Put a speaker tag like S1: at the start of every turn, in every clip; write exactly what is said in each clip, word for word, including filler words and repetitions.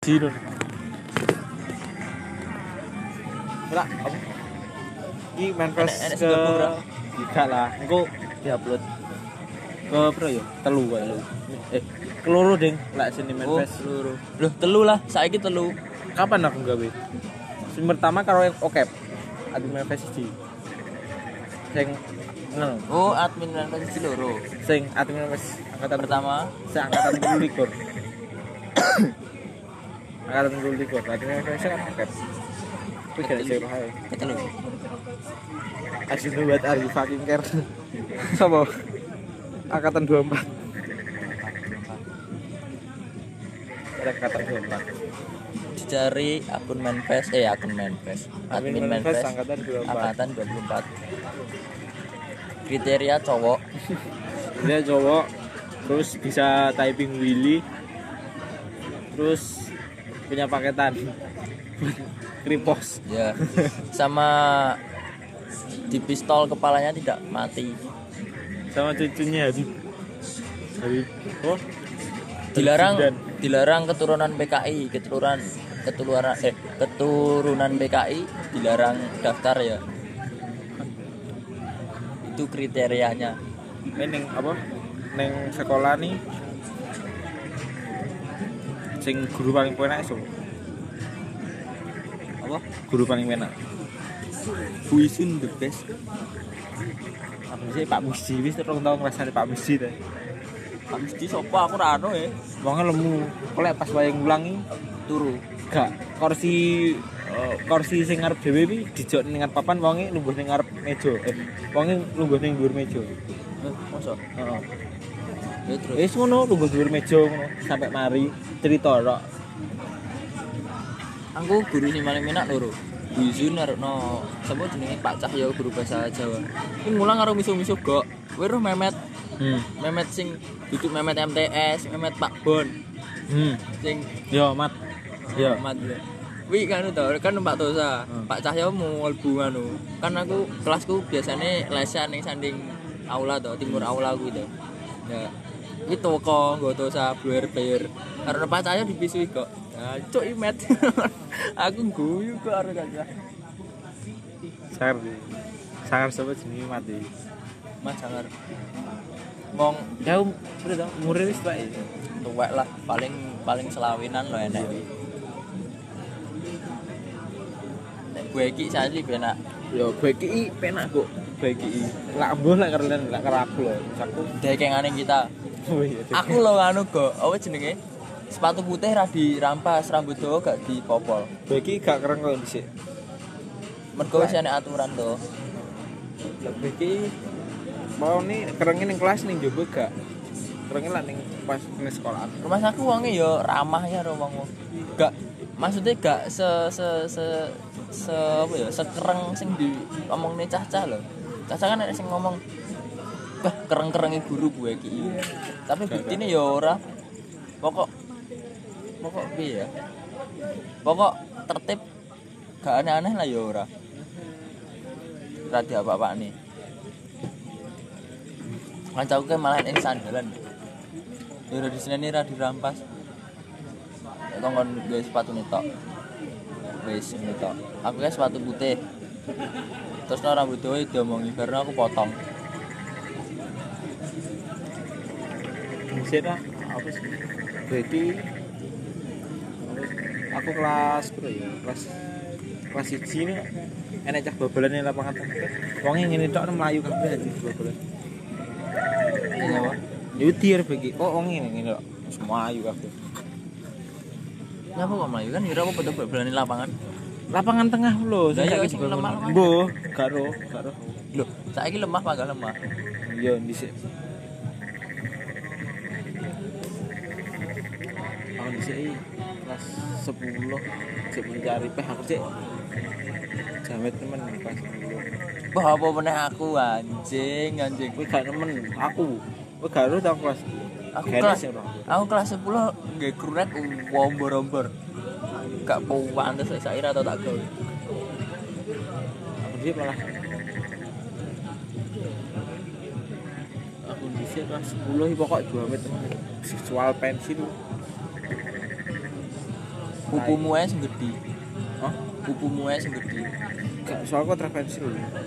S1: siji lho. Ora apa? Iki manifest ke tiga lah. Engko diupload ke pro ya? Telu wae lho. Eh, keloro ding lek sini manifest
S2: loro. Loh, telu lah. Saiki telu.
S1: Kapan aku gawe? Sing pertama karo Okep. Admin manifest siji. Sing nol.
S2: Oh, admin manifest siji loro.
S1: Sing admin manifest angkatan
S2: pertama,
S1: sing angkatan dua puluh. Angkatan dua puluh. Admin manifest kan Okep. Kuwi gak sih wae.
S2: Ketelu.
S1: Asyik buat Ari fucking care. Sopo? Angkatan dua puluh empat. Ada angkatan dua puluh empat.
S2: Dicari akun manifest eh akun manifest. Admin manifest
S1: angkatan dua puluh empat.
S2: Angkatan dua puluh empat. Kriteria cowok.
S1: Dia cowok terus bisa typing Willy. Terus punya paketan. Kripos.
S2: Ya. Sama di pistol kepalanya tidak mati.
S1: Sama cucunya Habib. Habib. Oh.
S2: Dilarang dilarang keturunan P K I, keturunan keturunan eh keturunan P K I dilarang daftar ya. Itu kriterianya.
S1: Ini neng apa? Neng sekolah nih. Sing guru paling penak iso.
S2: Apa?
S1: Guru paling penak.
S2: Buisun the best.
S1: Apa sih Pak Musti wis terus tau ngrasane Pak Musti ta.
S2: Pak Musti sapa aku ora ono ya.
S1: Wonge lemu. Kolek pas wae ngulangi
S2: Turu.
S1: Gak kursi uh, kursi sing ngarep dhewe iki dijok ning ngarep papan wonge lungguh ning ngarep meja. Eh, wonge lungguh ning dhuwur meja.
S2: Eh, mosok.
S1: Heeh.
S2: Ya terus.
S1: Wis ngono lungguh dhuwur meja ngono sampai mari cerita tok.
S2: Aku guru sing paling enak loro. Buisun arepno sapa jenenge Pak Cahyo guru bahasa Jawa. Iki mulang karo miso-miso gok. Kowe roh Memet.
S1: Hmm.
S2: Memet sing duduk Memet M T S, Memet Pak Bon.
S1: Hmm.
S2: Sing
S1: Yo, Mat. Yo.
S2: Mat ya. Wi kan to, kan Pak Tosa.
S1: Hmm.
S2: Pak Cahyo mau mlebu anu. Kan aku kelasku biasane lesan ning sanding aula to, timur aula kuwi to. Ya. Iki toko nggo Tosa bluer-bluer. Karena Pak Cahyo dipisui kok. Nah, cuk imet. Aku guyu kok arep gak.
S1: Sangar. Sangar sapa jenenge mati.
S2: Mas sangar. Wong
S1: Ya udah tau umure wis tuwek.
S2: tuwek lah, paling paling selawinan lho enek. Nek gue iki saiki penak.
S1: Yo gue iki penak kok. Gue iki lak mbuh lek karo lek karo aku lho. Aku
S2: Dekengane kita.
S1: oh iya.
S2: Aku lho anu kok, apa jenenge? Sepatu putih ra dirampas, rambut dawa gak dipopol.
S1: Gue iki gak keren kok dhisik.
S2: Mergo wis enek aturan to.
S1: Lah gue iki mau nih kerengin ning kelas ning jowo gak. Kerengin lah ning pas ning sekolah.
S2: Rumah aku wonge ya ramah ya ro wong. Gak maksudnya gak se se se se apa ya, sekereng sing diomongne cah-cah lho. Cah-cah kan nek sing ngomong wah kereng-kerenge guru gue iki. Tapi buktine ya ora. Pokok pokok piye ya? Pokok tertib gak aneh-aneh lah ya ora. Ora di apa-apa nih. Kancaku ke malah ning sandalan. Ya ora diseneni ra dirampas. Nek kon gawe sepatu tok. Wis ngene tok. Aku ke sepatu putih. Terus no rambut dawa diomongi karena aku potong.
S1: Sik ta. Apa sih? Gue iki aku kelas berapa ya? Kelas kelas siji nih enek cah babalan ning lapangan tengah. Wonge ngene tok mlayu kabeh anjing babalan.
S2: Iya apa?
S1: Yutir bagi. Oh, wonge ngene ngene tok. Semua ayu kabeh.
S2: Nyapa kok mlayu kan ora apa-apa bal-balan lapangan.
S1: Lapangan tengah lho,
S2: Lah iya
S1: saiki
S2: sing lemah.
S1: Mbuh, karo karo.
S2: Lho, saiki lemah panggal lemah.
S1: Iya, dhisik. Aku dhisik kelas sepuluh cek mencari peh aku cek jamet temen kelas sepuluh.
S2: Wah, apa meneh aku anjing, anjing.
S1: Kowe gak nemen aku. Kowe gak ero ta kelas.
S2: Aku
S1: Gak
S2: kelas
S1: enak sih, Bro.
S2: aku kelas sepuluh nggih krurek wombor-wombor. Gak pantes sak ira atau tak gawe.
S1: Aku dhisik malah aku dhisik kelas sepuluh iki pokok dua menit temen. Visual pensil.
S2: pupumu ae sing gedhi.
S1: Hah?
S2: Pupumu ae sing gedhi.
S1: Gak soal kok trapensil.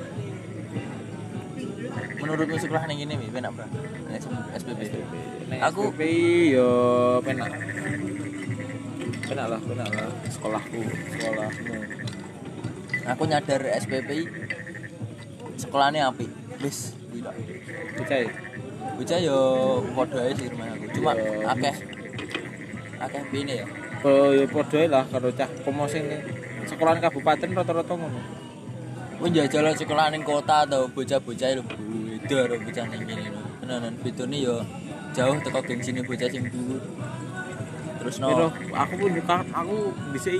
S2: Menurutmu sekolah ning ngene wi, enak, Bro? S P B.
S1: Aku
S2: Aku
S1: yo penak. Penak lah, penak lah sekolahku, sekolahmu.
S2: aku nyadar S P P sekolahnya apik. Wis, kuwi tok.
S1: Percaya.
S2: Bocah yo padha ae sih rumah aku. Cuma
S1: Yo,
S2: akeh akeh pine ya.
S1: Oh ya padha ae lah karo cah komo sing ning sekolahan kabupaten rata-rata ngono.
S2: Kowe njajal sekolah ning kota atau bocah-bocah lho beda karo bocah ning kene lho. Tenanan bedone yo jauh teko gengsine bocah sing dhuwur. Terus no
S1: Pero aku pun juga aku dhisik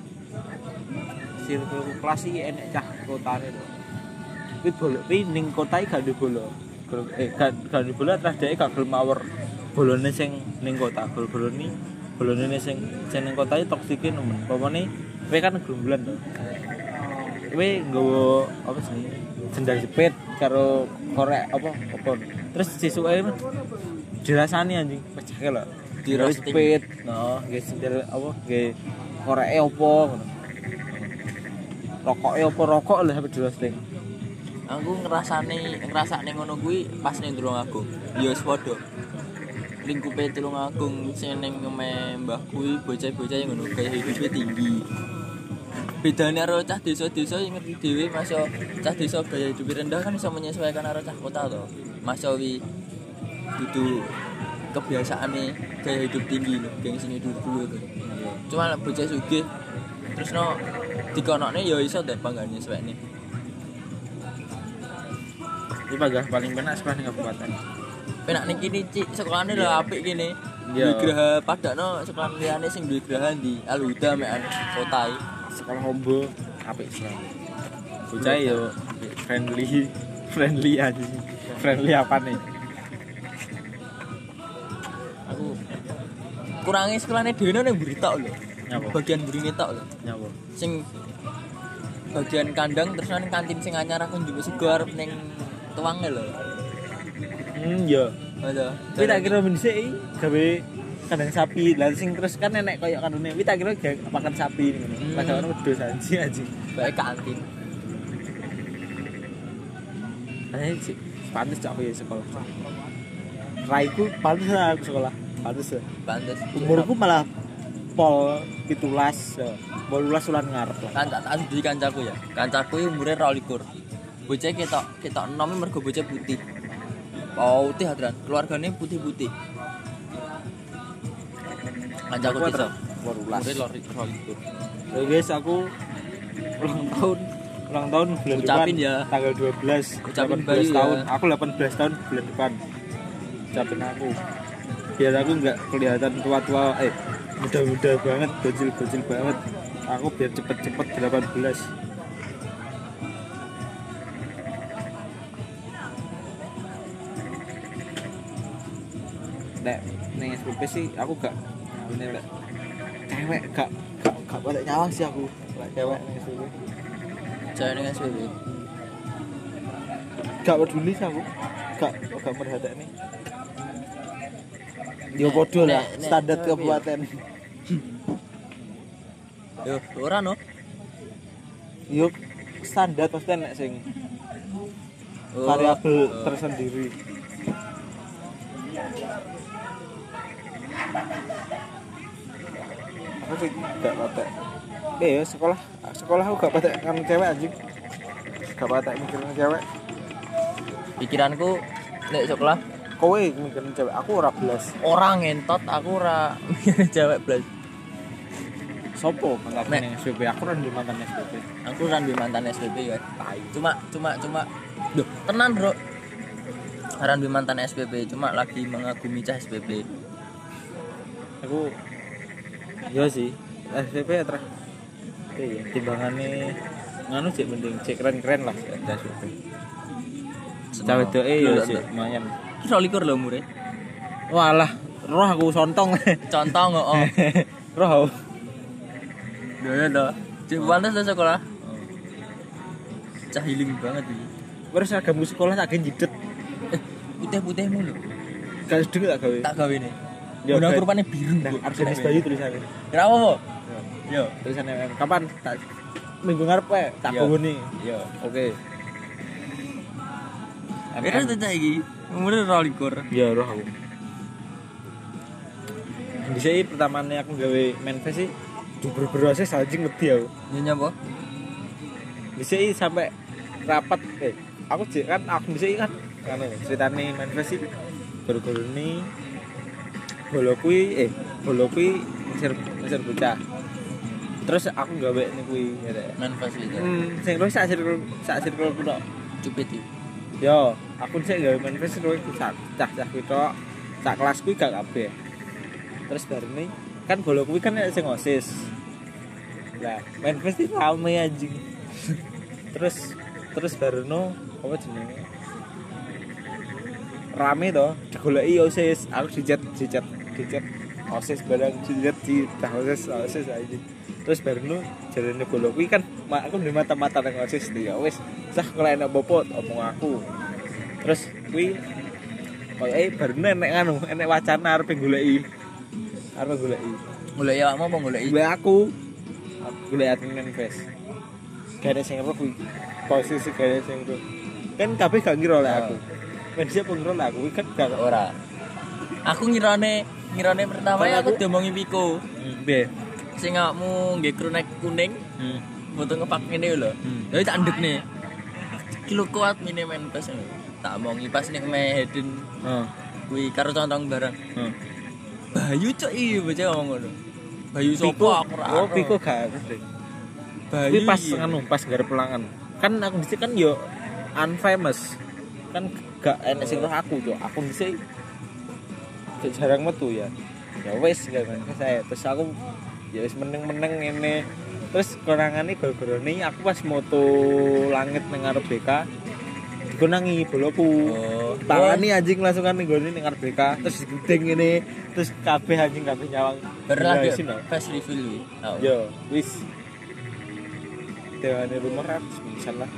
S1: circle kelas iki enek cah kotane lho. Kuwi bola kuwi ning kota iki gak duwe bola. Eh gak gak duwe bola terus dhek gak gelem mawer bolone sing ning kota. Bol-bolone bolone sing sing ning kota iki toksike nemen. Pomone kowe kan gerombolan to. Kowe nggawa apa sih? Sendal jepit karo korek apa apa. Terus sisuke dirasani anjing pecah lho.
S2: Dirosting.
S1: Jepit. No, nggih sendal apa nggih koreke apa ngono. Rokoke apa rokok lho sampe dirosting.
S2: aku ngrasani ngrasakne ngono kuwi pas ning Tulungagung. Ya wis padha. Lingkupe Tulungagung sing ning ngeme mbah kuwi bocah-bocah yang ngono gaya hidupe tinggi. Bedane karo cah desa-desa yang ngerti dhewe masya cah desa gaya hidup rendah kan iso menyesuaikan karo cah kota to. Masya wi dudu kebiasaane gaya hidup tinggi lho, geng sini dulu to. Cuma bocah sugih terus no dikonokne ya iso dan bangga nyesuaikne.
S1: Iki bagah paling penak sekolah ning kabupaten.
S2: Penak ning kene cik sekolahane lho apik kene.
S1: Iya.
S2: Duwe graha padakno sekolah liyane sing duwe graha ndi Al-Huda mekan kota iki.
S1: Sekolah Ombo apik sih. Bocah yo friendly, friendly aja sih. Friendly apa nih?
S2: Aku kurangi sekolahane dhewe ning mburi tok lho.
S1: Nyapa?
S2: Bagian mburine tok lho.
S1: Nyapa?
S2: Sing bagian kandang terus nang kantin sing anyar aku njupuk sego arep ning tuwange lho.
S1: Hmm, ya.
S2: Ada.
S1: Kuwi tak kira men sik gawe kandang sapi. Lah sing terus kan enek koyo kanune. Kuwi tak kira gawe pakan sapi ngono.
S2: Hmm.
S1: Padahal ono wedhus anjing anjing.
S2: Bae kantin.
S1: Ayo sih, pantes cak aku ya sekolah. Raiku pantes lah aku sekolah. Pantes ya.
S2: Pantes.
S1: Umurku malah pol pitulas, polulas ulan ngarep lah.
S2: Kan tak tak di kancaku ya. Kancaku iki umure dua likur. Bocah ketok ketok enom mergo bocah putih. Putih hadran. Keluargane putih-putih. Kancaku desa.
S1: Polulas.
S2: Umure dua likur.
S1: Ya guys, aku ulang tahun ulang tahun bulan
S2: Ucapin
S1: depan
S2: ya.
S1: tanggal dua belas
S2: Ucapin
S1: delapan belas
S2: Bayu
S1: tahun.
S2: ya.
S1: Aku delapan belas tahun bulan depan. Ucapin aku. Biar aku enggak kelihatan tua-tua eh muda-muda banget, bocil-bocil banget. Aku biar cepet-cepet delapan belas. Nek ning S P P sih aku gak ini lek cewek gak gak gak boleh nyawang sih aku lek cewek ning S P P.
S2: Cewek ning S P B.
S1: Gak peduli sih aku. Gak gak perhatiin. Yo podo lah
S2: nek- nek
S1: standar
S2: cewek
S1: kabupaten.
S2: Yo, ora no.
S1: Yo standar pasti nek sing
S2: Oh,
S1: variabel
S2: oh.
S1: tersendiri. Aku sih gak patek. Eh ya sekolah sekolah aku gak patek kan cewek anjing. Gak patek mikirin cewek.
S2: Pikiranku nek sekolah
S1: Kowe mikirin cewek, aku ora belas.
S2: orang ngentot aku ora mikir cewek blas.
S1: Sopo mantan
S2: Nek.
S1: ning S P P? Aku ora ndek mantan S P P.
S2: Aku kan duwe mantan S P B kan. Cuma cuma cuma Duh, tenan, Bro. Aran duwe mantan S P B, cuma lagi mengagumi cah S P B.
S1: Aku yo sih S P P ya terus. Iya, timbangane nganu sih mending cek keren-keren lah S P P. Cah wedoke yo sih lumayan.
S2: Ki dua likur lho umure.
S1: Walah, roh aku sontong.
S2: Contoh ngono.
S1: Roh.
S2: Ya ya. Cek pantes lah sekolah. Cah healing banget iki.
S1: Wes seragam sekolah tak gen jidet.
S2: Eh, putih-putihmu lho.
S1: Gak sedeng tak gawe.
S2: Tak gawe ne.
S1: Ya,
S2: Guna
S1: gawe.
S2: rupane biru.
S1: Nah, Arsenis Bayu tulisannya.
S2: Kenapa, Po?
S1: Ya.
S2: Yo.
S1: Tulisan M M. Kapan? Tak minggu ngarep wae tak
S2: Yo.
S1: gowoni.
S2: Yo.
S1: Oke.
S2: Akhirnya tuh iki umurnya dua likur.
S1: Ya roh aku. Dhisik pertamane aku gawe manifest sih diber-berose anjing wedi aku.
S2: Nyonya apa?
S1: Dhisik sampai rapat eh aku jek kan aku dhisik kan anu ceritane manifest sih guru-guru ini bolo kuwi eh bolo kuwi mesir mesir bocah. Terus aku gawe ning kuwi ya.
S2: Manifest itu.
S1: Hmm, sing terus sak sirkel sak sirkel ku tok.
S2: Cupit iki.
S1: Yo, aku sik gawe manifest terus sak cah-cah kuwi tok. Sak kelas kuwi gak kabeh. Terus bareng kan bolo kuwi kan sing OSIS. Lah, manifest iki rame anjing. terus terus bareno apa jenenge? Rame to, digoleki OSIS, aku dicat dicat dicat OSIS barang dicat di OSIS OSIS aja. Terus bareno jarene bolo kuwi kan aku di mata-mata nang OSIS ya wis, sah kalau enak bopot omong aku. Terus kuwi koyo eh bareno enek anu, enek wacana arep goleki. Arep goleki.
S2: Goleki awakmu apa goleki?
S1: Goleki aku. Goleki admin manifest. Gak ada sing roh kuwi. Posisi gak ada sing roh. Kan kabeh gak ngira oleh aku. Men siapa ngira oleh aku kan gak
S2: ora. Aku ngirane ngirane pertama ya aku diomongi Piko.
S1: Piye?
S2: Sing awakmu nggih kronek kuning.
S1: Hmm.
S2: Foto ngepak ngene lho. Ya tak ndekne. Kilo kuat mini manifest lho. Tak omongi pas ning Mehedin.
S1: Heeh.
S2: Kuwi karo contong bareng.
S1: Heeh.
S2: Bayu cuk iki bocah ngomong ngono. Bayu sapa aku ora.
S1: Oh, Piko gak ngerti.
S2: Bayu
S1: Tapi pas anu pas garap pelangan. Kan aku dhisik kan yo unfamous. Kan gak enek sing roh aku, Cuk. Aku dhisik jarang metu ya. Ya wis gak manifest saya. Terus aku ya wis meneng-meneng ngene. Terus konangane gara-garane aku pas moto langit nang arep B K dikonangi boloku.
S2: Oh,
S1: Tangani anjing langsung kan nggone ning arep B K terus digedeng ngene. Terus kabeh anjing kabeh nyawang.
S2: Bener lagi
S1: Sini,
S2: fast reveal kuwi.
S1: yo, wis. Dewane rumah ratus pisan lah.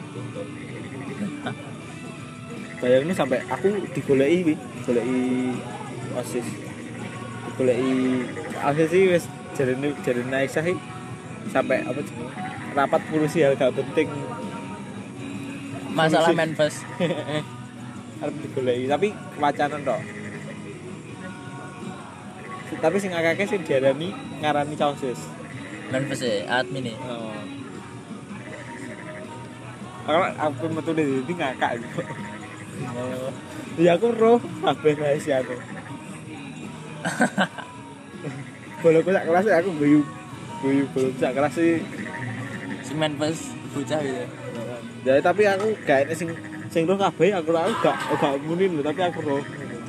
S1: Bayangin sampai aku digoleki wi, goleki OSIS. Digoleki akhir sih wis jarene jarene Aisyah iki sampai apa jenenge? Rapat ngurusi hal gak penting.
S2: Masalah
S1: Ngurusi.
S2: manifest.
S1: Arep digoleki tapi wacana tok. Tapi sing akeh sing diarani ngarani OSIS.
S2: Manifest e admin e.
S1: Oh. Kalau aku metu di sini ngakak gitu. Oh. Ya aku roh kabeh rahasia aku. Boloku sak kelas aku guyu guyu boloku sak kelas sih.
S2: Sing manifest bocah gitu.
S1: Ya tapi aku gak enek sing sing roh kabeh aku aku gak gak muni lho tapi aku roh.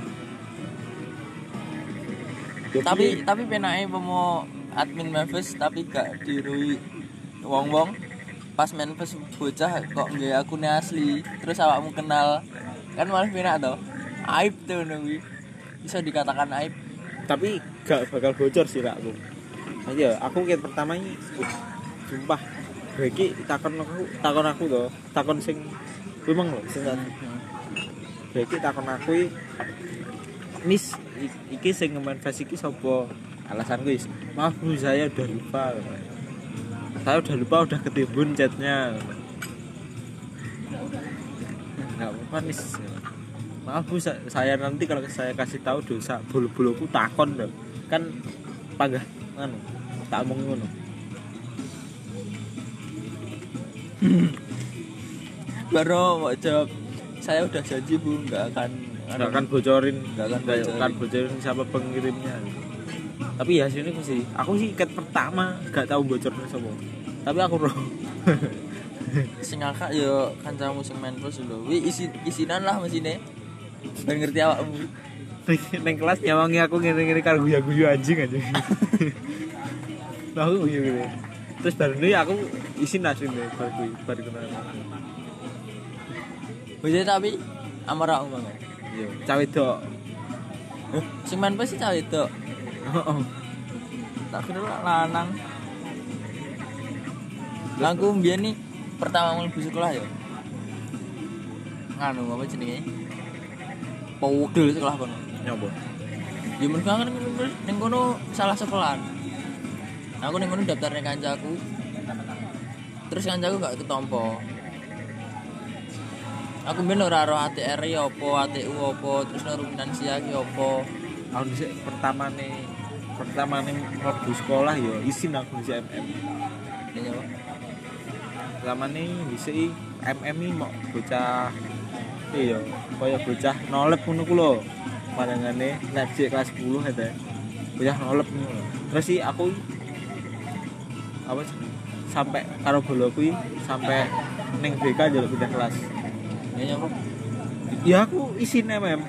S1: Ya,
S2: Tapi tapi penake pomo admin manifest tapi gak dirui wong-wong. Pas manifest bocah kok nggih akune asli terus awakmu kenal kan malah penak to aib tuh kuwi bisa dikatakan aib
S1: tapi gak bakal bocor sih lah aku. Iya, aku ket pertama ini uh, sumpah iki takon aku takon aku to takon sing kuwi mong lho sing iki takon aku iki Nis iki sing manifest iki sapa alasanku is maaf Bu saya udah lupa saya udah lupa udah ketimbun chatnya nggak apa-apa nih maaf Bu saya nanti kalau saya kasih tahu dosa bulu-buluku takon dong kan panggah anu tak omong ngono
S2: baru mau jawab saya udah janji Bu nggak akan
S1: nggak akan bocorin
S2: nggak akan
S1: nggak
S2: bocorin.
S1: akan bocorin siapa pengirimnya tapi ya sini sih aku sih ikat pertama gak tahu bocornya sama tapi aku roh
S2: sing ngakak yo kancamu sing manifest lho wi isi isinan lah mesine ben ngerti awakmu
S1: neng kelas nyawangi aku ngene-ngene karo guyu-guyu anjing aja nah aku guyu gitu terus baru ini aku isi nasi nih baru guyu baru kenal
S2: bocah tapi amar aku banget
S1: iya cawe dok
S2: sing manifest sih cawe dok
S1: oh
S2: tak kira lanang langku mbiyen nih pertama mlebu sekolah ya nganu apa jenenge powegel sekolah kono
S1: nyoba
S2: ya men banget ning kono salah sekolahan Aku ning ngono daftarne kancaku. Terus kancaku gak ketompo. Aku ben ora ro A T R ya apa, A T U apa, terus nang finansia ki apa.
S1: Aku dhisik pertamane pertamane mlebu sekolah ya isin aku dhisik M M.
S2: Iya apa?
S1: Pertamane dhisik M M iki mau bocah iya, kaya bocah nolep ngono ku lho. Pandangannya nek dhisik kelas sepuluh eta. Bocah nolep ngono. Terus sih aku apa sih sampai karo boloku sampai ning B K njaluk pindah kelas.
S2: Iya apa?
S1: Ya aku isin M M.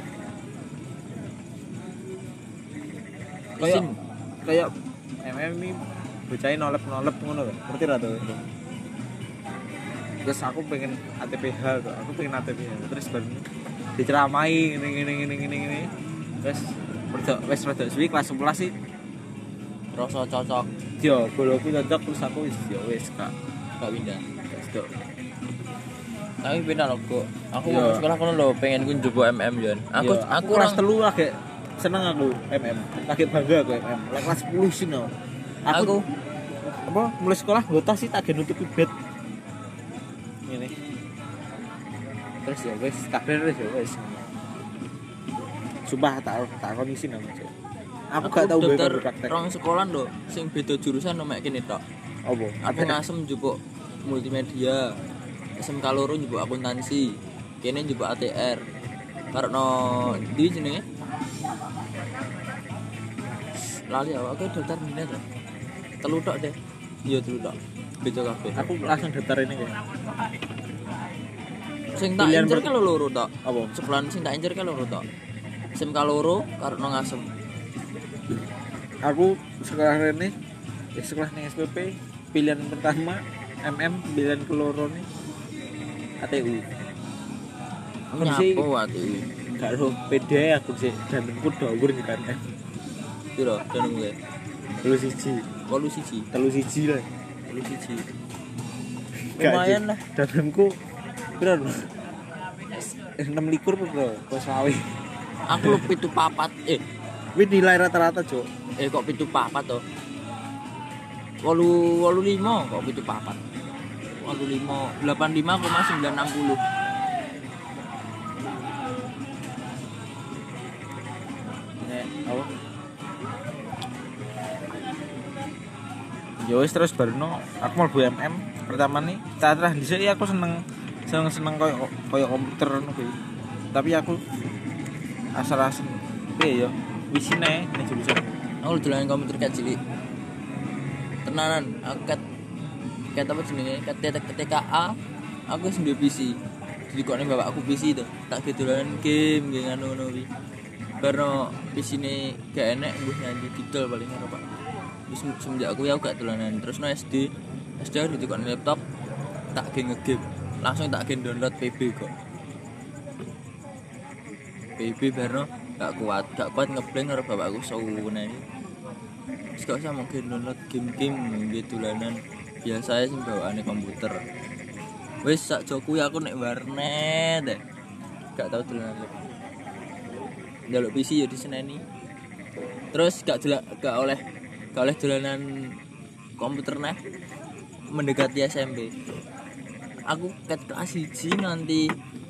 S1: Kayak
S2: Isin.
S1: kayak M M ini bocahin nolep-nolep ngono lho. Ngerti ra to? Terus aku pengen A T P H kok. Aku pengen A T P H. Terus baru diceramai ngene ngene ngene ngene ngene. Terus rodok wis rodok suwi kelas sebelas sih.
S2: Rasa cocok
S1: Yo, boloku cocok terus aku wis yo wis Kak.
S2: gak pindah.
S1: Wis tok.
S2: Tapi pindah lho kok. Aku
S1: Iya.
S2: sekolah kono lho pengen ku njupuk M M Jan. Aku
S1: Yo,
S2: aku
S1: kelas
S2: orang
S1: telu lagi seneng aku M M. Lagi bangga aku M M. Lek kelas sepuluh sih no. Aku,
S2: Aku
S1: apa mulai sekolah ngota sih tak gen nutupi bed. Ngene. Terus ya wis kabeh wis ya wis. Sumpah tak tak kondisi nang. Aku gak tau
S2: daftar
S1: mbek praktek.
S2: rong sekolah lho sing beda jurusan mek kene tok.
S1: Apa?
S2: Aku ngasem njupuk multimedia. S M K loro njupuk akuntansi. Kene njupuk A T R. Karena di jenenge lali aku daftar minat lho. Telu tok deh. Iya telu tok. Beda kabeh.
S1: Aku langsung daftar ini kayak.
S2: Sing tak
S1: Pilihan
S2: incer
S1: ber-
S2: ke lho loro tok.
S1: Apa?
S2: Sekolahan sing tak incer ke loro tok. S M K loro karena ngasem.
S1: Aku sekolah ini ya sekolah ning S P P pilihan pertama M M, pilihan keloro nih A T U. Aku sih
S2: Nyapo ati.
S1: gak ro pede aku sih dantenku dhuwur nih kan.
S2: Piro danemu ge?
S1: Telu siji,
S2: wolu siji.
S1: telu siji lah.
S2: wolu siji.
S1: Gak,
S2: Lumayan
S1: Cik.
S2: lah.
S1: Dantenku piro? enam likur bro, kok sawi.
S2: Aku lu pitu papat. Eh,
S1: Wih nilai rata-rata cok.
S2: eh kok pitu papat to? wolu wolu lima kok pitu papat. wolu lima delapan lima koma sembilan enam nol.
S1: Nek apa? Ya wis terus barno aku mlebu M M pertama nih. Terus dhisik aku seneng seneng seneng koyo koyo komputer ngono kuwi. Tapi aku asal-asal piye ya wisine ning jurusan.
S2: Aku dolanan komputer kat cilik. Tenanan, aku kat kat apa jenenge? Kat T K A. Aku wis duwe P C. Jadi kok ning bapakku P C to. Tak gedolanan game nggih ngono-ngono kuwi. Karena P C-ne gak enek mbuh nyanyi didol paling karo Pak. Wis semenjak aku ya aku gak dolanan. Terus no S D. S D aku dikon laptop tak ge ngegame. Langsung tak ge download P B kok. P B barno gak kuat, gak kuat ngeblank karo bapakku sawune. Wis gak usah mungkin download game-game gitu dolanan biasa sing bawaane komputer. Wis sak joku aku nek warnet deh. Gak tau dolanan. Njaluk P C ya diseneni. Terus gak jelak gak oleh gak oleh dolanan komputer neh mendekati S M P. Aku ket kelas siji nanti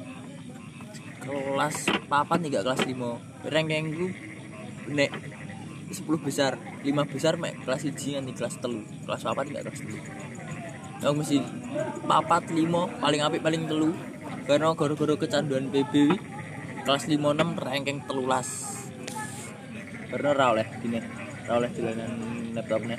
S2: kelas papat nih gak kelas lima. Rankingku nek sepuluh besar, lima besar mek kelas siji nanti kelas telu. Kelas papat gak kelas telu. Aku mesti papat lima paling apik paling telu. Karena gara-gara kecanduan P B kelas lima enam ranking telulas. Karena ra oleh gini, ra oleh dolanan laptopnya.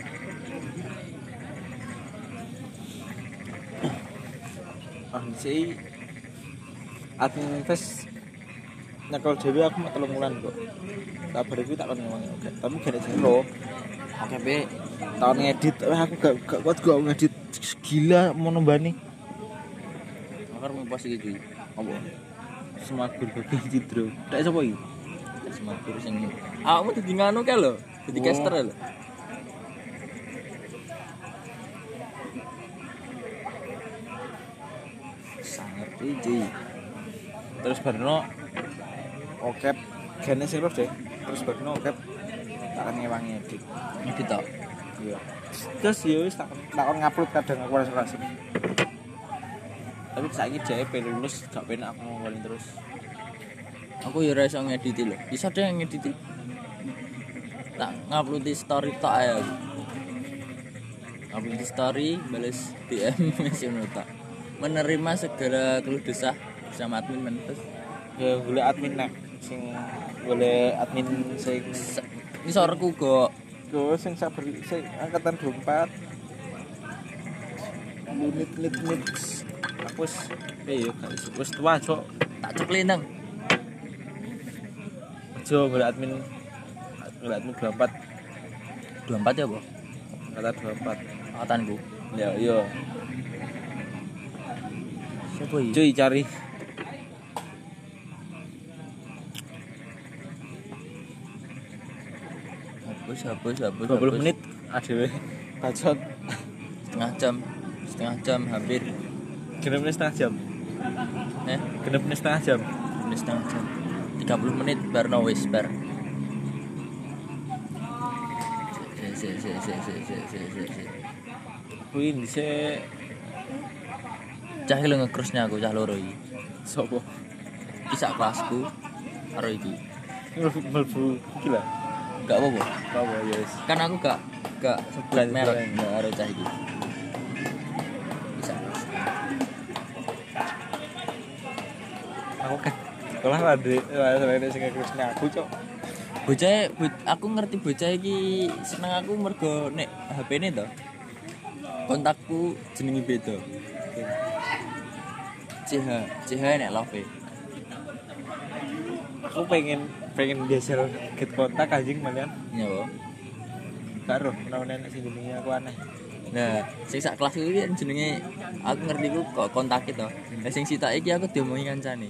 S1: Ah sih admin fest nyekel dhewe aku mek telung wulan kok. Kabar iku tak kon ngomong oke. Tapi gak jero.
S2: Oke, Be.
S1: Tahun ngedit, wah aku gak gak kuat gak ngedit gila mau nembani.
S2: Makar mau pos iki.
S1: Apa? Semagur bagi cidro. Tak sapa iki?
S2: Semakur sing awakmu dadi nganu kae lho, dadi
S1: Oh.
S2: caster lho.
S1: Sangat iki. Terus barno oke gene sih deh. Terus barno oke tak ngewangi edit.
S2: Ngedit tok.
S1: Iya. Terus ya wis tak takon ngupload kadang aku rasa rasa. Tapi saiki dhek pe lulus gak penak aku ngomongin terus.
S2: Aku ya ora iso ngedit lho. Iso deh ngedit. Tak ngupload di story tok ae aku. Upload di story, balas D M ngono tok. Menerima segala keluh kesah bersama admin Manifest.
S1: Ya golek admin nek sing golek admin sing
S2: Ngisorku kok.
S1: go sing sabar sing angkatan dua puluh empat. Unit unit unit. Aku wis eh yo guys, wis tua cok.
S2: Tak ceklin nang.
S1: Jo golek admin golek admin dua puluh empat.
S2: dua puluh empat ya, Bu?
S1: Angkatan dua puluh empat.
S2: Angkatanku.
S1: Ya yo.
S2: Siapa iki?
S1: Cuy cari.
S2: Hapus, hapus, hapus.
S1: dua puluh
S2: hapus.
S1: menit adewe bacot.
S2: Setengah jam. Setengah jam hampir.
S1: Genep menit setengah jam.
S2: Eh,
S1: Genep menit setengah jam.
S2: ini setengah jam. tiga puluh menit bar no wis bar. Si si si si si si si si.
S1: Kuwi dhisik
S2: Cah iki lho ngekrusnya aku cah loro iki.
S1: sopo?
S2: Isak kelasku karo iki.
S1: Melbu iki lah.
S2: Enggak apa-apa.
S1: Apa ya wis.
S2: Kan aku gak gak sebut
S1: Bulan-
S2: merek
S1: bulan.
S2: enggak karo cah iki. Isak.
S1: Aku kan sekolah lah dek, lah sing ngekrusne aku cok.
S2: Bocah bo- aku ngerti bocah iki seneng aku mergo nek H P-ne to. Kontakku jenenge beda. C H, C H nek love.
S1: Aku pengen pengen geser get kontak anjing malian.
S2: Ya, Bu.
S1: Karo menawa nek sing jenenge aku aneh.
S2: Nah, sing sak kelas iki kan jenenge aku ngerti ku kok kontak to. Lah sing sitok iki aku diomongi kancane.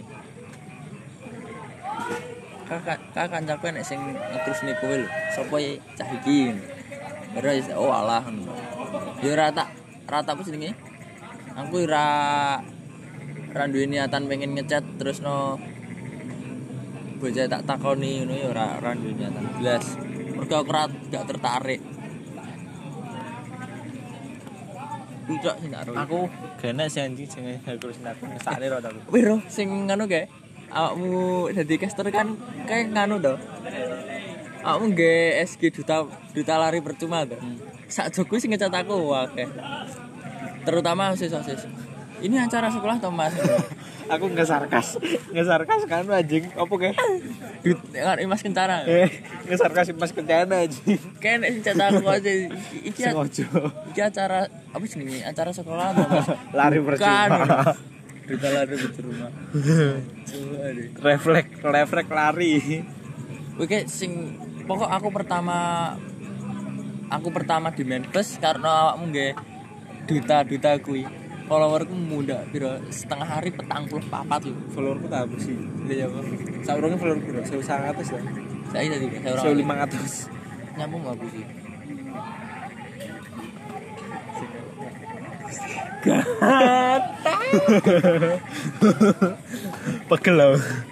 S2: Kakak kakak kancaku nek sing ngetrusne kowe lho. Sopo ya cah iki? Ora wis oh alah ngono. Ya ora tak ora tak apa jenenge? Aku ora ora duwe niatan pengen ngechat terus no bocah tak takoni ngono ya ora ora duwe niatan blas. Mergo aku ora gak tertarik. Ucok sing tak ro.
S1: Aku gene sing anjing sing ngekrusne aku ngesakne ro aku.
S2: Wiro sing ngono kae. Awakmu dadi caster kan kayak nganu to. Awakmu nge S G duta duta lari percuma to. Sak joku sing ngecat aku akeh. Terutama sosis-sosis. Ini acara sekolah to, Mas?
S1: Aku ngesarkas. Ngesarkas kan anjing. Apa ke?
S2: Dut kan Mas Kencana.
S1: Eh, ngesarkas Mas Kencana anjing.
S2: Kayak nek sing cetak aku aja iki
S1: Sengaja.
S2: iki acara apa jenenge? Acara sekolah to, Mas?
S1: Lari percuma.
S2: Duta lari percuma. Coba deh.
S1: Refleks, refleks lari.
S2: Oke, sing pokok aku pertama aku pertama di Manifest karena awakmu nggih duta-duta kuwi. Followerku muda piro setengah hari petang puluh papat lho.
S1: Followerku tak habis sih.
S2: Iya ya, Bang.
S1: Saurunge follower piro? seribu seratus lah.
S2: Saya tadi saya orang
S1: seribu lima ratus.
S2: nyambung aku sih.
S1: Pegel lho.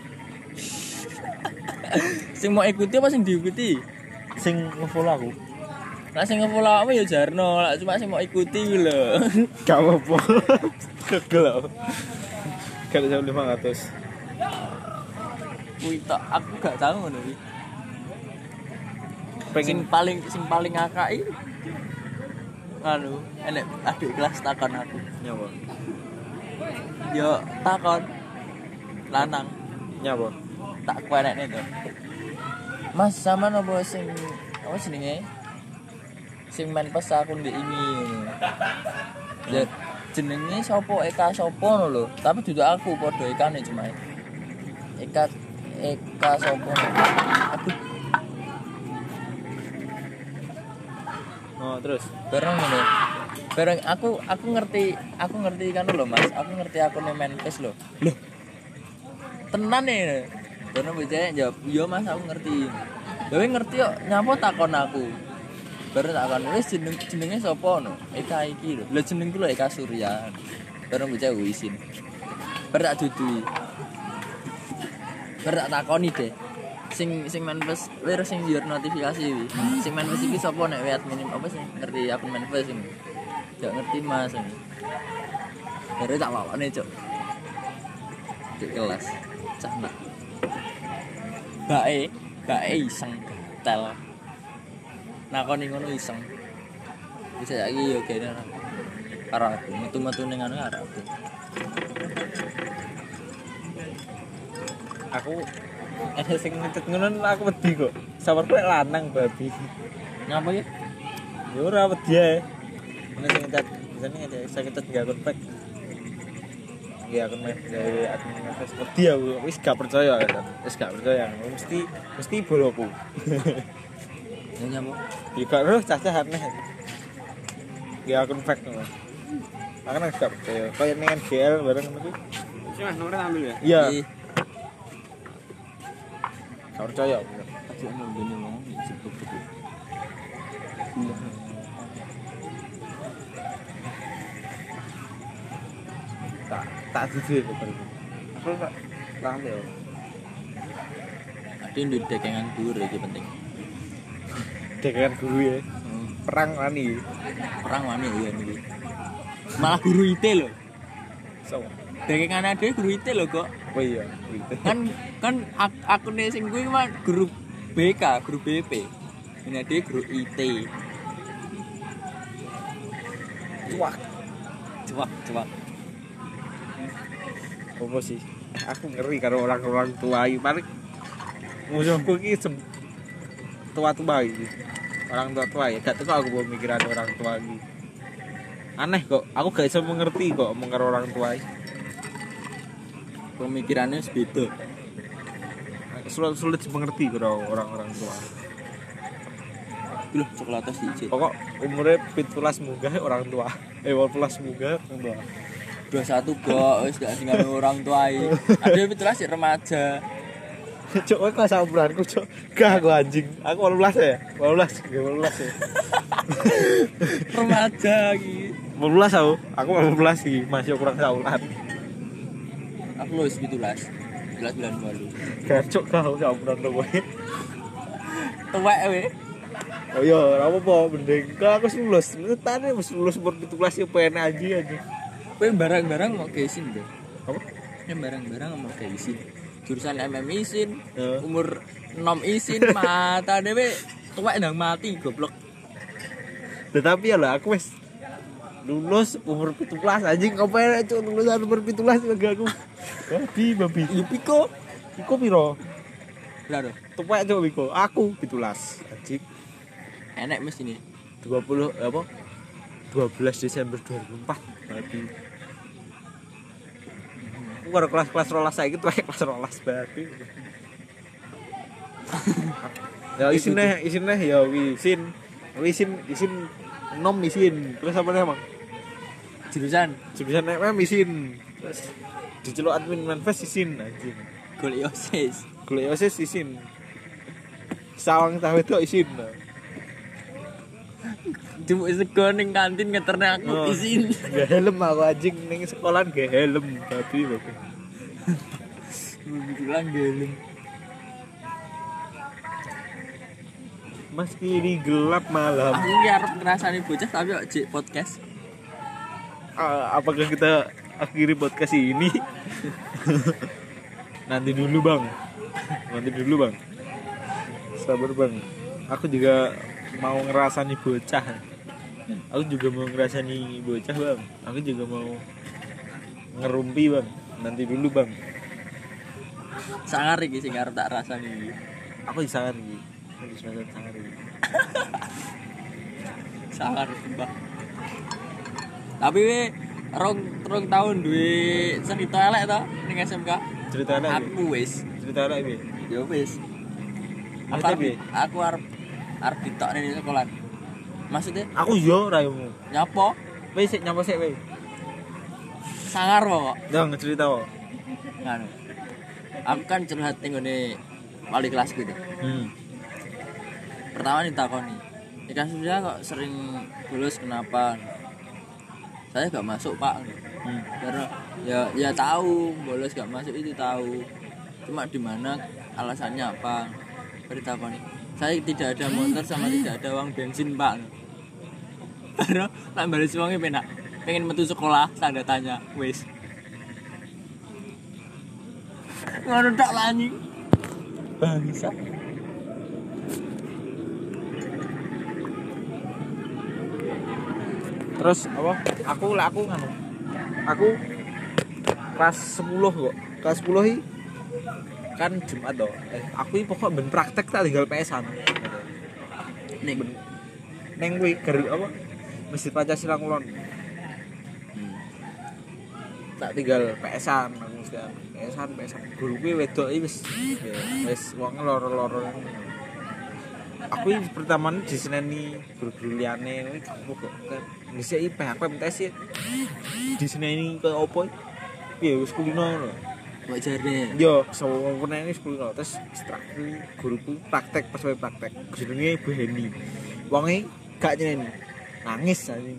S2: Sing mau ikuti apa sing diikuti?
S1: Sing nge-follow aku.
S2: Lah sing nge-follow aku ya jarno, lah cuma sing mau ikuti kuwi lho.
S1: Gak apa-apa. Pegel lho. Kalau seribu lima ratus.
S2: Kuwi tok aku gak tahu ngono kuwi. Sing
S1: Pengen
S2: paling sing paling ngakai anu enek adik kelas takon aku.
S1: nyawa.
S2: Yo takon lanang
S1: Nyawa.
S2: tak kuenekne to. Mas sama nopo sing apa jenenge? Sing main pas aku ndek ini. Ya jenenge sapa Eka sapa ngono lho. Tapi dudu aku padha Ekane cuma. Eka Eka sapa? Aduh,
S1: Oh, terus.
S2: bareng ngono. Bareng aku aku ngerti, aku ngerti kan lho Mas. Aku ngerti akune Manifest lho. Loh. Tenan e. Karena bocah jawab, "Iya Mas, aku ngerti." Dewe ngerti kok, nyapa takon aku. Baru takon, "Wis jeneng jenenge sapa no?" Eka iki lho. Lah jenengku lho Eka Surya. Baru bocah wisin. Baru tak dudui. Baru tak takoni deh. sing sing manifest lir sing your notifikasi wi. Sing manifest iki sapa nek wet minim apa sih ngerti akun manifest ini. Gak ngerti Mas ini. Bare tak lawane, Cuk. Di kelas. Cah nak. Bae, bae iseng tel. Nakoni ngono iseng. Bisa lagi yo kene. Karo aku metu-metu ning anu karo aku.
S1: Aku ada sing ngetet ngono aku wedi kok. Sawarku lek lanang babi.
S2: Ngapa ya?
S1: Ya ora wedi ae. Nek sing ngetet, jane ngetet saya ngetet gak akun fake. Ya akun main dari akun fake wedi aku wis gak percaya kan. Wis gak percaya. Mesti mesti boloku.
S2: Ya nyapa?
S1: Ya gak roh cacah aneh. Ya akun fake ngono. Aku nang gak percaya. Kayak ning G L bareng ngono kuwi.
S3: Sih Mas, nomornya ambil ya?
S1: Iya. Gak percaya.
S2: Aduh ono ngene wong sebut-sebut.
S1: Tak tak jujur betul. Aku tak lali yo.
S2: Ade ndek dekengan dhuwur iki penting.
S1: Dekan guru ya. Perang wani.
S2: Perang wani ya niki. Malah guru I T lho.
S1: So.
S2: Dekengan ade guru I T lho kok.
S1: Oh iya, gitu.
S2: Kan kan ak- akune sing kuwi mah guru B K, guru B P. Ini ade guru I T.
S1: Cuak.
S2: Cuak, cuak.
S1: Apa sih? Aku ngeri karo orang-orang tua iki. Paling musuhku iki sem- tua-tua iki. Orang tua-tua ya, gak teko aku mau mikiran orang tua iki. Aneh kok, aku gak bisa mengerti kok omong karo orang tua iki.
S2: Pemikirannya beda.
S1: Sulit sulit dimengerti karo orang-orang tua.
S2: Loh, coklatnya siji.
S1: Pokok umurnya pitulas munggah orang tua. Eh, wolulas munggah orang tua.
S2: dua puluh satu kok wis gak tinggal orang tua iki. Ade pitulas sik remaja.
S1: Cuk, kowe kelas umuranku, Cuk. Gak aku anjing. Aku wolulas ya. wolulas, gak wolulas ya.
S2: Remaja iki.
S1: wolulas aku. Aku wolulas iki, masih kurang saulan.
S2: Aku lulus pitulas. pitulas bulan lalu.
S1: Gak cuk kau umuran kowe.
S2: Tuwek we.
S1: Oh iya, ora apa-apa, mending kalau aku lulus. Tane wis lulus umur pitulas yo pene aja aja.
S2: Kowe barang-barang mau ke isin deh.
S1: Apa?
S2: Ya barang-barang mau ke isin. Jurusan M M isin,
S1: Ya.
S2: umur enam isin, mata dhewe tuwek ndang mati goblok.
S1: Tetapi ya lah aku wis lulus umur pitulas anjing apa ya cuk lulusan umur pitulas enggak aku. Babi babi.
S2: Yo piko.
S1: Iku piro?
S2: Lah lho,
S1: Tuwek cuk iku. Aku pitulas anjing.
S2: enek mesti ini.
S1: dua puluh apa? dua belas Desember dua ribu empat babi. Aku karo kelas-kelas rolas saiki tuwek kelas rolas babi. Ya isine isine ya wisin. Wisin isin nom isin. Terus apa namanya?
S2: Jurusan
S1: Jurusan M M isin. Terus diceluk admin manifest isin anjing.
S2: golek osis.
S1: Golek osis isin. Sawang tahu itu isin.
S2: Cuma sego ning kantin ngeterne aku
S1: Oh.
S2: isin.
S1: Gak helm aku anjing ning sekolah gak helm babi babi.
S2: Bilang gelem.
S1: Meski ini gelap malam.
S2: Aku ki arep ngrasani bocah tapi kok jek podcast.
S1: Ah, apakah kita akhiri podcast ini? Nanti dulu bang. Nanti dulu bang. Sabar bang. Aku juga mau ngerasani bocah. Aku juga mau ngerasani bocah bang. Aku juga mau ngerumpi bang. Nanti dulu bang.
S2: Sangar iki sing arep tak rasani iki.
S1: Aku disangar iki. Aku disangar sangar iki.
S2: Sangar mbah. Tapi we rong rong tahun duwe cerita elek to ning S M K.
S1: Cerita anak iki.
S2: Aku wis,
S1: Cerita anak iki.
S2: ya wis. Aku
S1: Maksudnya
S2: arep
S1: piye?
S2: aku arep arep ditokne di sekolah. Maksudnya
S1: Aku yo raimu.
S2: nyapa?
S1: Wis sik nyapa sik wis.
S2: Sangar kok.
S1: Dong cerita kok.
S2: Nganu. Aku kan curhat ning ngene wali kelas gitu.
S1: Hmm.
S2: Pertama ditakoni, di kasusnya kok sering bolos kenapa? Saya gak masuk pak,
S1: Hmm.
S2: karena ya ya tahu bolos gak masuk itu tahu, cuma di mana alasannya apa? Berita apa nih? Saya tidak ada motor sama tidak ada uang bensin pak. Baru tak balik uangnya penak. Pengen metu sekolah, tanda tanya, wes. Ngono tak lani. Bangsa.
S1: Terus apa? Aku lah aku nganu. Aku kelas sepuluh kok. Kelas sepuluh i kan Jumat toh. Eh, aku i pokok ben praktek tak tinggal P S-an.
S2: Ning
S1: Neng kuwi ger apa? Masjid Pancasila Kulon.
S2: hmm.
S1: Tak tinggal P S-an, aku mesti P S-an, P S-an. Guru kuwi wedok iki wis wis wong loro-loro. Aku iki pertama diseneni guru-guru liyane kuwi kok ngisi P H P M T S diseneni kaya opo? Piye wis kulino ngono.
S2: Kok jare.
S1: Yo, sewengkone ini sepuluh terus terakhir guruku praktek pas wae praktek. Jenenge Bu Heni. Wonge gak nyeneni. Nangis anjing.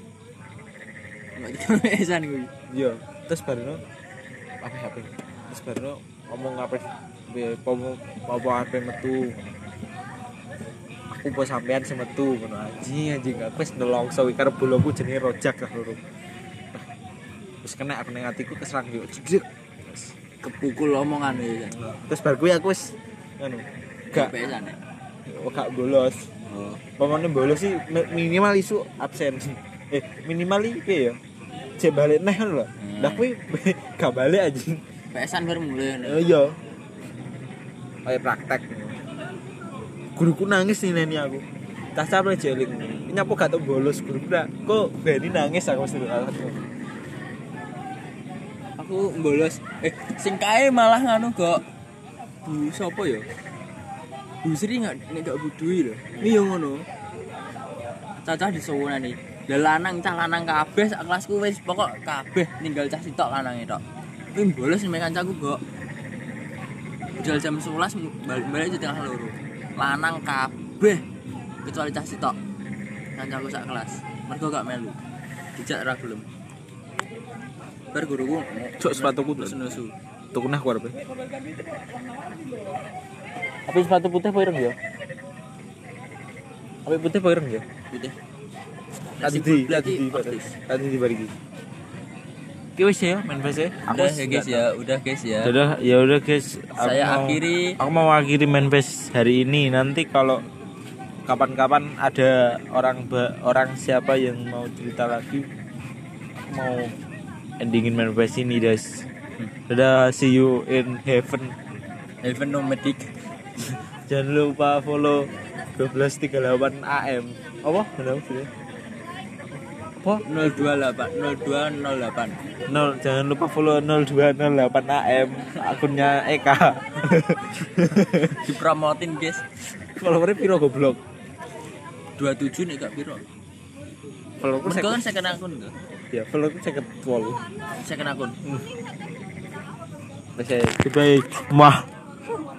S2: Nek kemesan kuwi.
S1: Yo, terus baru apa H P. Terus baru ngomong apa pomo apa H P metu. Aku po sampean semetu ngono anjing anjing aku wis nelongso iki karo boloku jenenge Rojak lah lho. Wis kena aku ning atiku keserang yo jek.
S2: Kepukul omongan ya.
S1: Terus bar kuwi aku wis ngono. Gak
S2: pesan nek.
S1: Oh, gak bolos.
S2: Oh.
S1: Pemane bolos sih minimal isu absen. Eh, minimal iki piye ya? Cek balik neh lho. Lah kuwi gak balik anjing.
S2: Pesan baru mulai.
S1: Oh iya. Kayak praktek. Guruku nangis nih neni aku. Tas capek jelik. Nyapa gak tau bolos guruku lah. Kok Beni nangis aku mesti alasan.
S2: Aku bolos. Eh, sing kae malah nganu kok. Bu sapa ya? Bu Sri enggak nek gak budui lho. Iki yo ngono. Cacah disowonane. Lah lanang cah lanang kabeh sak kelasku wis pokok kabeh ninggal cah sitok lanange tok. Kuwi bolos mek kancaku kok. Budal jam sebelas balik di tengah loro. Lanang kabeh kecuali cah sitok. Kancaku sak kelas. Mergo gak melu. Dijak ra gelem. Bar guruku
S1: Cuk sepatuku
S2: terus nesu.
S1: tuku nah ku arepe. Apa sepatu putih apa ireng ya? Apa putih apa ireng ya?
S2: Putih.
S1: Tadi di tadi di tadi di bariki. Ki wis ya main P C.
S2: Udah ya guys ya, udah guys ya.
S1: Udah ya udah guys.
S2: Saya
S1: mau,
S2: akhiri.
S1: Aku mau akhiri main P S hari ini. Nanti kalau kapan-kapan ada orang orang siapa yang mau cerita lagi, aku mau endingin main P S ini guys. Dadah, see you in heaven.
S2: Heaven nomadic.
S1: Jangan lupa follow dua belas tiga puluh delapan A M. Apa? Benar sih. Apa?
S2: nol dua delapan nol dua nol delapan.
S1: nol jangan lupa follow nol dua nol delapan A M akunnya Eka.
S2: Dipromotin guys.
S1: Followernya piro goblok?
S2: dua puluh tujuh nek gak piro.
S1: Followerku
S2: Mereka kan
S1: seket.
S2: second akun enggak?
S1: Ya, followerku seket wolu.
S2: Second akun.
S1: Oke, goodbye. Mah.